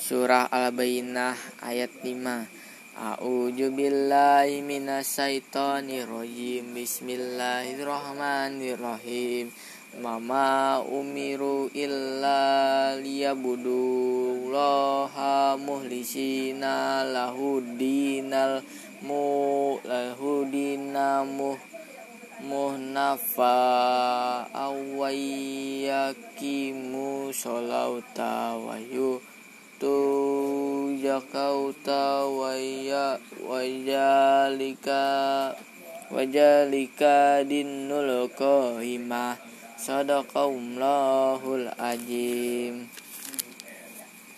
Surah Al-Bayyinah ayat 5. A'udzu billahi minasyaitonir rajim. Bismillahirrahmanirrahim. Mama umiru illa liyabudullaha muhlisina lahudinal muhnafa awayakimu sholauta wayu tu jakauta wajalika dinul qaimah sadaqallahul azim.